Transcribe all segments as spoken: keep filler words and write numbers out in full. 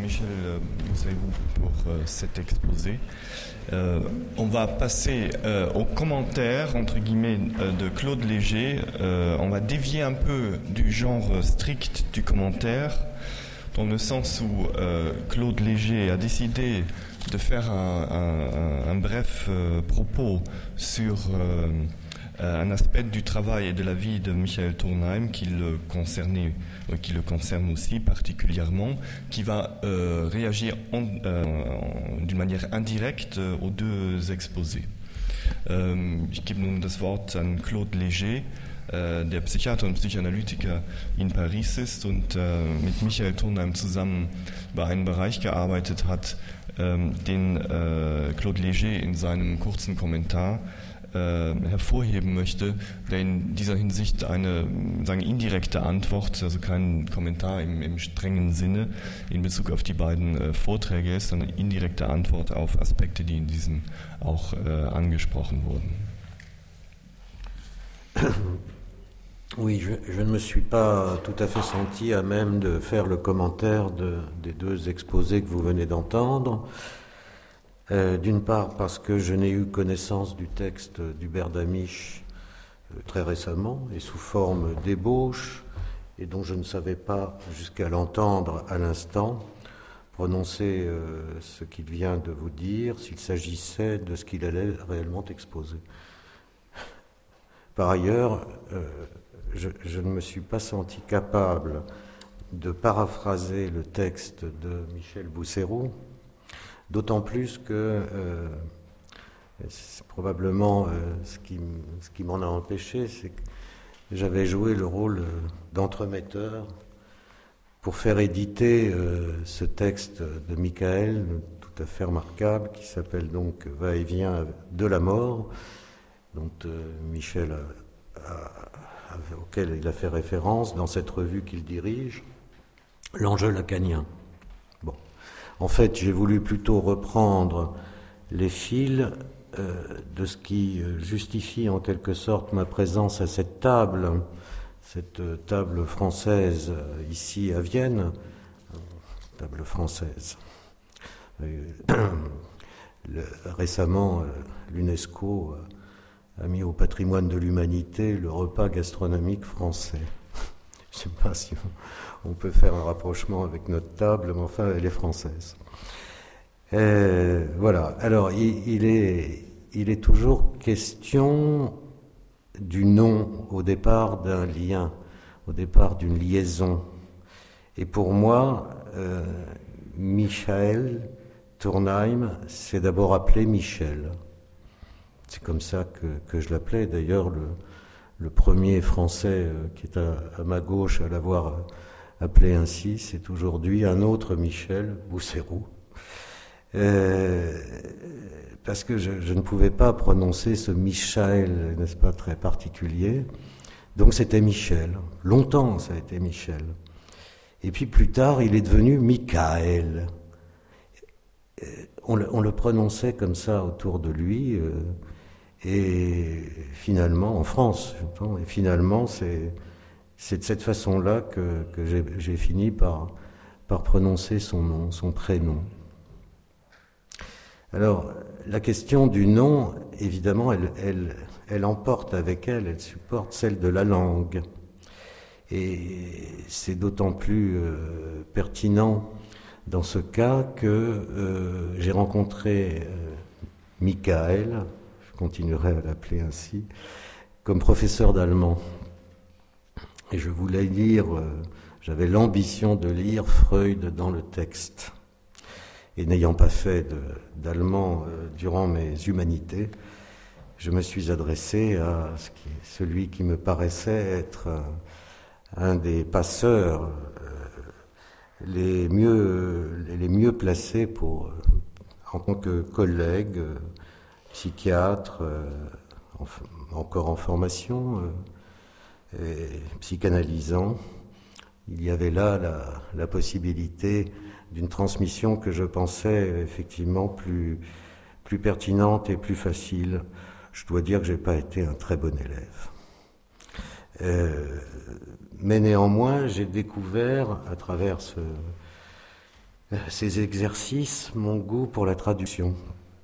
Michel Bousserou pour euh, cet exposé. Euh, on va passer euh, aux commentaires, entre guillemets, euh, de Claude Léger. Euh, on va dévier un peu du genre strict du commentaire, dans le sens où euh, Claude Léger a décidé de faire un, un, un bref euh, propos sur euh, un aspect du travail et de la vie de Michael Turnheim qui le concernait, euh, qui le concerne aussi particulièrement, qui va euh, réagir en, euh, en, d'une manière indirecte euh, aux deux exposés. Ähm, ich gebe nun das Wort an Claude Léger, äh, der Psychiater und Psychoanalytiker in Paris ist und äh, mit Michael Turnheim zusammen über einen Bereich gearbeitet hat, ähm, den äh, Claude Léger in seinem kurzen Kommentar äh, hervorheben möchte, der in dieser Hinsicht eine sagen, indirekte Antwort, also kein Kommentar im, im strengen Sinne in Bezug auf die beiden äh, Vorträge ist, sondern eine indirekte Antwort auf Aspekte, die in diesem auch äh, angesprochen wurden. Oui, je, je ne me suis pas tout à fait senti à même de faire le commentaire de, des deux exposés que vous venez d'entendre. Euh, d'une part parce que je n'ai eu connaissance du texte d'Hubert Damisch euh, très récemment et sous forme d'ébauche, et dont je ne savais pas, jusqu'à l'entendre à l'instant, prononcer euh, ce qu'il vient de vous dire, s'il s'agissait de ce qu'il allait réellement exposer. Par ailleurs, euh, je, je ne me suis pas senti capable de paraphraser le texte de Michel Bousserou, d'autant plus que euh, c'est probablement euh, ce qui, ce qui m'en a empêché, c'est que j'avais joué le rôle d'entremetteur pour faire éditer euh, ce texte de Michael, tout à fait remarquable, qui s'appelle donc « Va-et-vient de la mort », dont euh, Michel a, a, a, auquel il a fait référence dans cette revue qu'il dirige, l'enjeu lacanien. Bon. En fait, j'ai voulu plutôt reprendre les fils euh, de ce qui justifie en quelque sorte ma présence à cette table, cette table française ici à Vienne, table française. Euh, le, récemment, l'UNESCO a mis au patrimoine de l'humanité le repas gastronomique français. Je ne sais pas si on peut faire un rapprochement avec notre table, mais enfin, elle est française. Et voilà. Alors, il, il, est, il est toujours question du nom au départ d'un lien, au départ d'une liaison. Et pour moi, euh, Michael Turnheim s'est d'abord appelé Michel. C'est comme ça que, que je l'appelais. D'ailleurs, le, le premier Français euh, qui est à, à ma gauche à l'avoir appelé ainsi, c'est aujourd'hui un autre Michel Bousserou. Euh, parce que je, je ne pouvais pas prononcer ce Michael, n'est-ce pas, très particulier. Donc c'était Michel. Longtemps, ça a été Michel. Et puis plus tard, il est devenu Michael. On le, on le prononçait comme ça autour de lui. Euh, Et finalement, en France, j'entends, et finalement, c'est, c'est de cette façon-là que, que j'ai, j'ai fini par, par prononcer son nom, son prénom. Alors, la question du nom, évidemment, elle, elle, elle emporte avec elle, elle supporte celle de la langue. Et c'est d'autant plus euh, pertinent dans ce cas que euh, j'ai rencontré euh, Michael, continuerai à l'appeler ainsi, comme professeur d'allemand. Et je voulais lire, euh, j'avais l'ambition de lire Freud dans le texte. Et n'ayant pas fait de, d'allemand euh, durant mes humanités, je me suis adressé à ce qui, celui qui me paraissait être euh, un des passeurs euh, les, mieux, les mieux placés pour, euh, en tant que collègue, euh, psychiatre, euh, en, encore en formation, euh, et psychanalysant. Il y avait là la, la possibilité d'une transmission que je pensais effectivement plus, plus pertinente et plus facile. Je dois dire que je n'ai pas été un très bon élève. Euh, mais néanmoins, j'ai découvert à travers ce, ces exercices mon goût pour la traduction.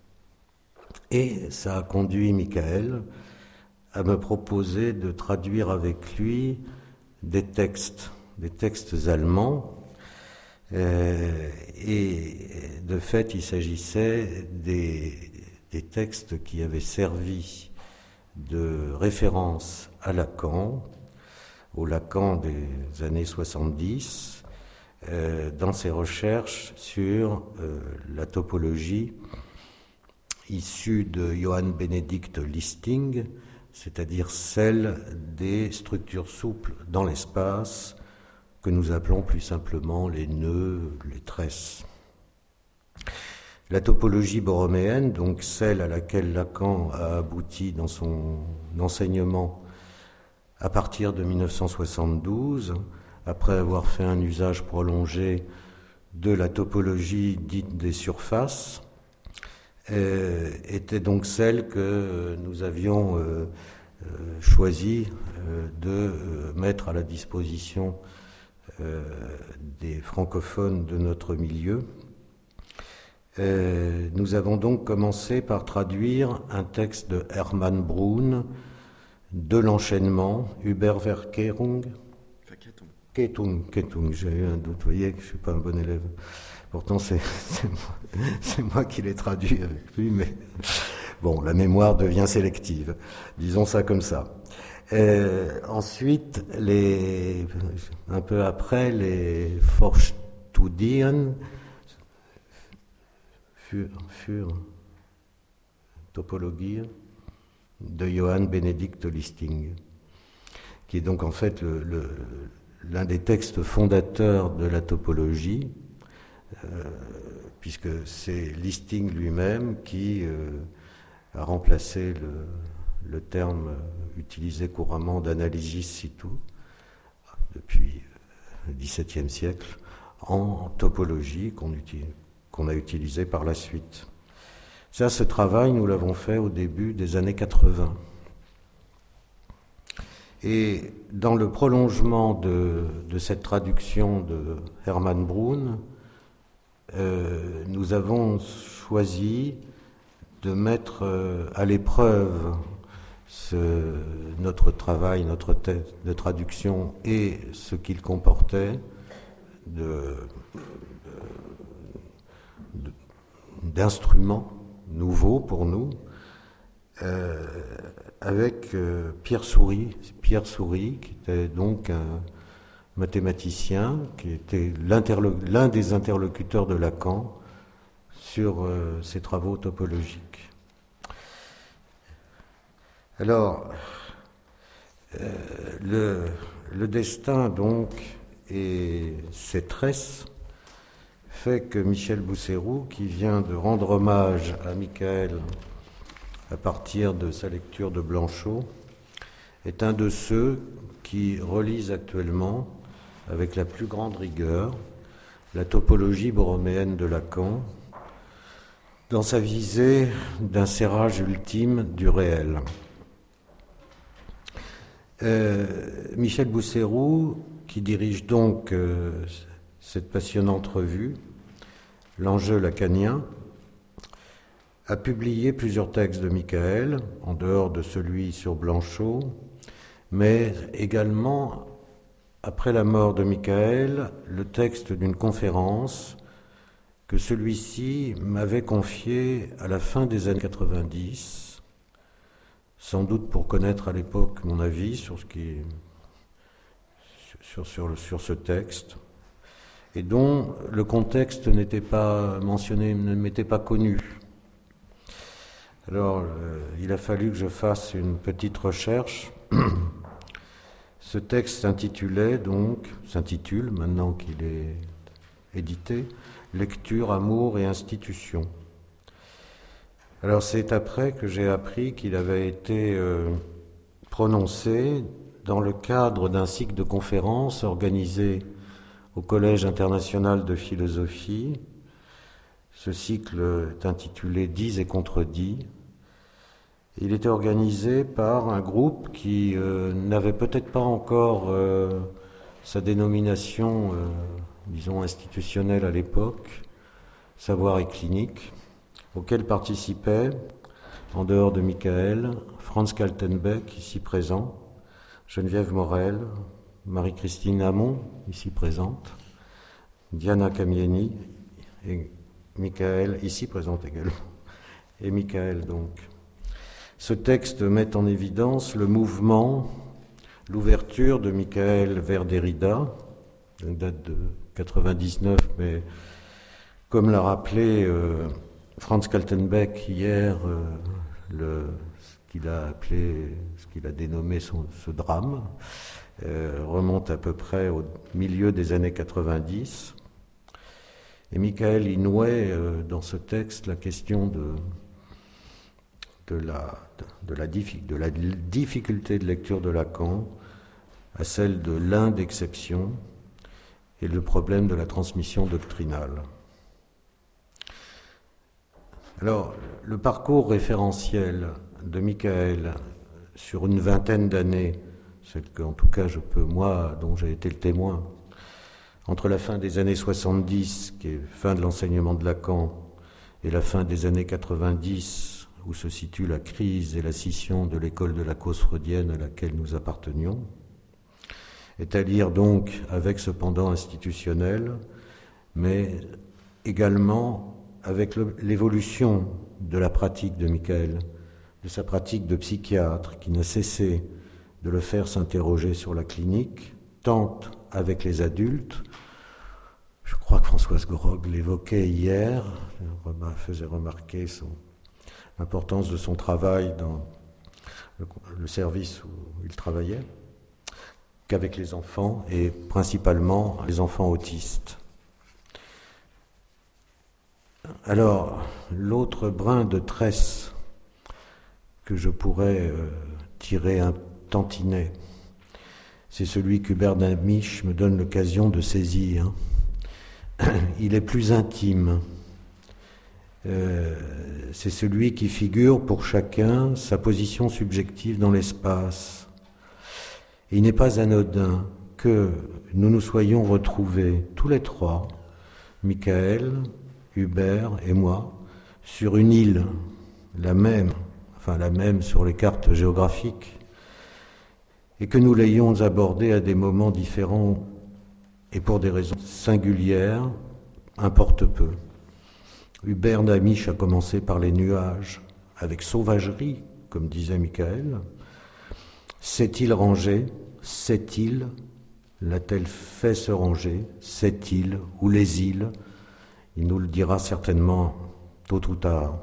Et ça a conduit Michael à me proposer de traduire avec lui des textes, des textes allemands. Euh, et de fait, il s'agissait des, des textes qui avaient servi de référence à Lacan, au Lacan des années soixante-dix, euh, dans ses recherches sur euh, la topologie issue de Johann Benedict Listing, c'est-à-dire celle des structures souples dans l'espace, que nous appelons plus simplement les nœuds, les tresses. La topologie borroméenne, donc celle à laquelle Lacan a abouti dans son enseignement à partir de mille neuf cent soixante-douze, après avoir fait un usage prolongé de la topologie dite des surfaces, euh, était donc celle que nous avions euh, euh, choisi euh, de euh, mettre à la disposition Euh, des francophones de notre milieu. Euh, nous avons donc commencé par traduire un texte de Hermann Brun, de l'enchaînement, Überverkehrung, Kettung, Kettung, j'ai eu un doute, vous voyez que je ne suis pas un bon élève. Pourtant, c'est, c'est, moi, c'est moi qui l'ai traduit avec lui, mais bon, la mémoire devient sélective, disons ça comme ça. Euh, ensuite, les, un peu après, les Vorstudien für, für Topologie de Johann Benedict Listing, qui est donc en fait le, le, l'un des textes fondateurs de la topologie, euh, puisque c'est Listing lui-même qui euh, a remplacé le le terme utilisé couramment d'analysis situ depuis le dix-septième siècle en topologie qu'on, utilise, qu'on a utilisé par la suite. Ça, ce travail, nous l'avons fait au début des années quatre-vingts. Et dans le prolongement de, de cette traduction de Hermann Brun, euh, nous avons choisi de mettre euh, à l'épreuve Ce, notre travail, notre texte de traduction et ce qu'il comportait de, de, d'instruments nouveaux pour nous, euh, avec euh, Pierre Soury, Pierre Soury, qui était donc un mathématicien, qui était l'un des interlocuteurs de Lacan sur euh, ses travaux topologiques. Alors, euh, le, le destin, donc, et ses tresses, fait que Michel Bousséroux, qui vient de rendre hommage à Michael à partir de sa lecture de Blanchot, est un de ceux qui relisent actuellement, avec la plus grande rigueur, la topologie borroméenne de Lacan, dans sa visée d'un serrage ultime du réel. Euh, Michel Bousséroux, qui dirige donc euh, cette passionnante revue, L'enjeu lacanien, a publié plusieurs textes de Michael, en dehors de celui sur Blanchot, mais également, après la mort de Michael, le texte d'une conférence que celui-ci m'avait confiée à la fin des années quatre-vingt-dix, sans doute pour connaître à l'époque mon avis sur ce qui, sur, sur, sur ce texte, et dont le contexte n'était pas mentionné, ne m'était pas connu. Alors, euh, il a fallu que je fasse une petite recherche. Ce texte s'intitulait donc, s'intitule maintenant qu'il est édité, Lecture, amour et institution. Alors c'est après que j'ai appris qu'il avait été euh, prononcé dans le cadre d'un cycle de conférences organisé au Collège international de philosophie. Ce cycle est intitulé « Dits et contredits ». Il était organisé par un groupe qui euh, n'avait peut-être pas encore euh, sa dénomination euh, disons, institutionnel à l'époque, Savoir et clinique, auquel participaient, en dehors de Michael, Franz Kaltenbeck, ici présent, Geneviève Morel, Marie-Christine Hamon, ici présente, Diana Camieni et Michael, ici présente également, et Michael donc. Ce texte met en évidence le mouvement, l'ouverture de Michael vers Derrida, une date de quatre-vingt-dix-neuf, mais comme l'a rappelé euh, Franz Kaltenbeck hier, euh, le, ce qu'il a appelé, ce qu'il a dénommé son, ce drame, euh, remonte à peu près au milieu des années quatre-vingt-dix. Et Michael y nouait euh, dans ce texte la question de, de, la, de, la, de la difficulté de lecture de Lacan à celle de l'indexception et le problème de la transmission doctrinale. Alors, le parcours référentiel de Michael sur une vingtaine d'années, celle qu'en tout cas je peux, moi, dont j'ai été le témoin, entre la fin des années soixante-dix, qui est fin de l'enseignement de Lacan, et la fin des années quatre-vingt-dix, où se situe la crise et la scission de l'école de la cause freudienne à laquelle nous appartenions, est à lire donc avec ce pendant institutionnel, mais également avec le, l'évolution de la pratique de Michael, de sa pratique de psychiatre, qui n'a cessé de le faire s'interroger sur la clinique, tant avec les adultes. Je crois que Françoise Gorog l'évoquait hier, faisait remarquer son, l'importance de son travail dans le, le service où il travaillait, qu'avec les enfants, et principalement les enfants autistes. Alors, l'autre brin de tresse que je pourrais euh, tirer un tantinet, c'est celui qu'Hubert Damisch me donne l'occasion de saisir. Il est plus intime. Euh, c'est celui qui figure pour chacun sa position subjective dans l'espace. Et il n'est pas anodin que nous nous soyons retrouvés tous les trois, Michael, Hubert et moi, sur une île, la même, enfin la même sur les cartes géographiques, et que nous l'ayons abordée à des moments différents et pour des raisons singulières, importe peu. Hubert Damisch a commencé par les nuages, avec sauvagerie, comme disait Michael. Cette île rangée, cette île, l'a-t-elle fait se ranger, cette île ou les îles? Il nous le dira certainement tôt ou tard.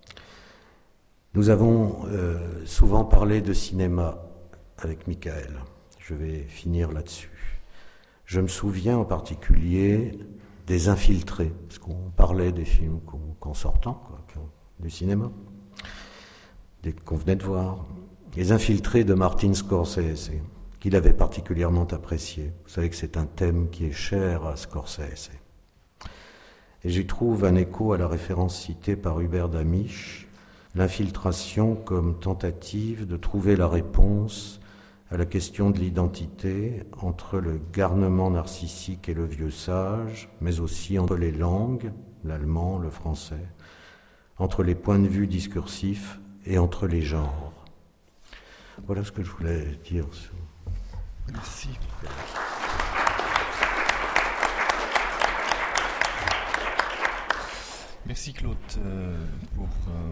Nous avons euh, souvent parlé de cinéma avec Michael. Je vais finir là-dessus. Je me souviens en particulier des Infiltrés, parce qu'on parlait des films qu'on, qu'en sortant, quoi, du cinéma, des, qu'on venait de voir. Les Infiltrés de Martin Scorsese, qu'il avait particulièrement apprécié. Vous savez que c'est un thème qui est cher à Scorsese. Et j'y trouve un écho à la référence citée par Hubert Damisch, l'infiltration comme tentative de trouver la réponse à la question de l'identité entre le garnement narcissique et le vieux sage, mais aussi entre les langues, l'allemand, le français, entre les points de vue discursifs et entre les genres. Voilà ce que je voulais dire. Merci. Merci Claude euh, pour... Euh